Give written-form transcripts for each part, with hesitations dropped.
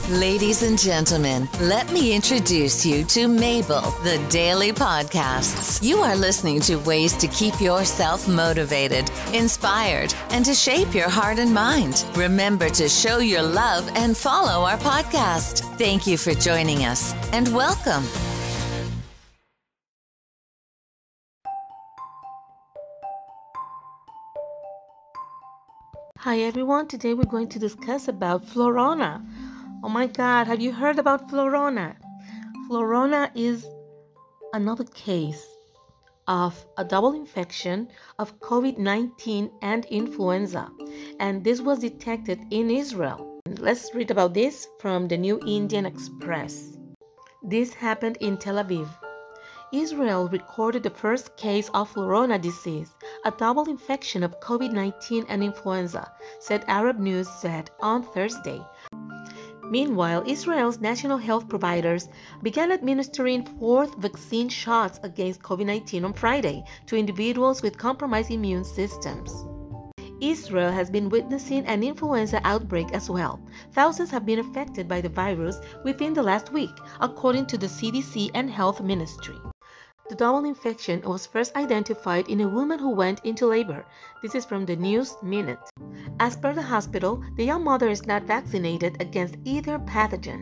Ladies and gentlemen, let me introduce you to Mabel, the Daily Podcasts. You are listening to ways to keep yourself motivated, inspired, and to shape your heart and mind. Remember to show your love and follow our podcast. Thank you for joining us and welcome. Hi everyone, today we're going to discuss about Florona. Oh my God, have you heard about Florona? Florona is another case of a double infection of COVID-19 and influenza, and this was detected in Israel. Let's read about this from the New Indian Express. This happened in Tel Aviv. Israel recorded the first case of Florona disease, a double infection of COVID-19 and influenza, said Arab News said on Thursday. Meanwhile, Israel's national health providers began administering fourth vaccine shots against COVID-19 on Friday to individuals with compromised immune systems. Israel has been witnessing an influenza outbreak as well. Thousands have been affected by the virus within the last week, according to the CDC and Health Ministry. The double infection was first identified in a woman who went into labor. This is from the News Minute. As per the hospital, the young mother is not vaccinated against either pathogen.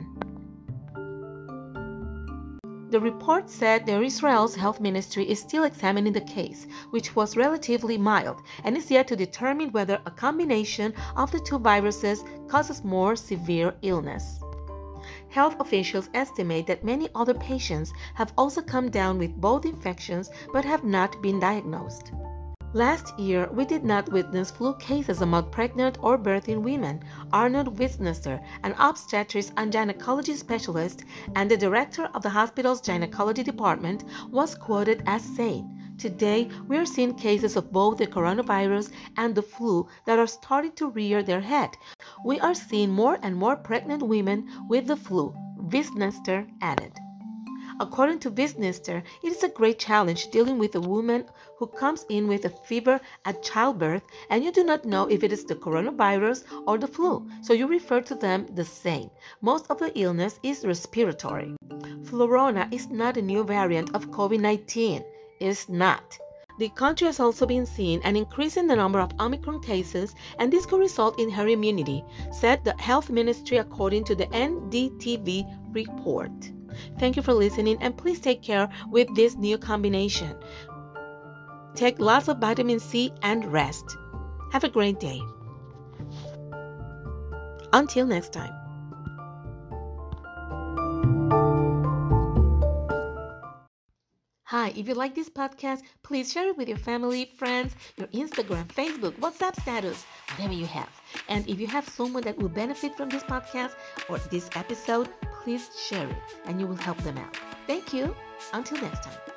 The report said that Israel's health ministry is still examining the case, which was relatively mild, and is yet to determine whether a combination of the two viruses causes more severe illness. Health officials estimate that many other patients have also come down with both infections but have not been diagnosed. Last year, we did not witness flu cases among pregnant or birthing women. Arnold Wisnester, an obstetrics and gynecology specialist and the director of the hospital's gynecology department, was quoted as saying, "Today, we are seeing cases of both the coronavirus and the flu that are starting to rear their head. We are seeing more and more pregnant women with the flu," Wisnester added. According to Wisnester, it is a great challenge dealing with a woman who comes in with a fever at childbirth and you do not know if it is the coronavirus or the flu, so you refer to them the same. Most of the illness is respiratory. Florona is not a new variant of COVID-19. It is not. The country has also been seeing an increase in the number of Omicron cases, and this could result in herd immunity, said the health ministry according to the NDTV report. Thank you for listening, and please take care with this new combination. Take lots of vitamin C and rest. Have a great day. Until next time. Hi, if you like this podcast, please share it with your family, friends, your Instagram, Facebook, WhatsApp status, whatever you have. And if you have someone that will benefit from this podcast or this episode, please share it and you will help them out. Thank you. Until next time.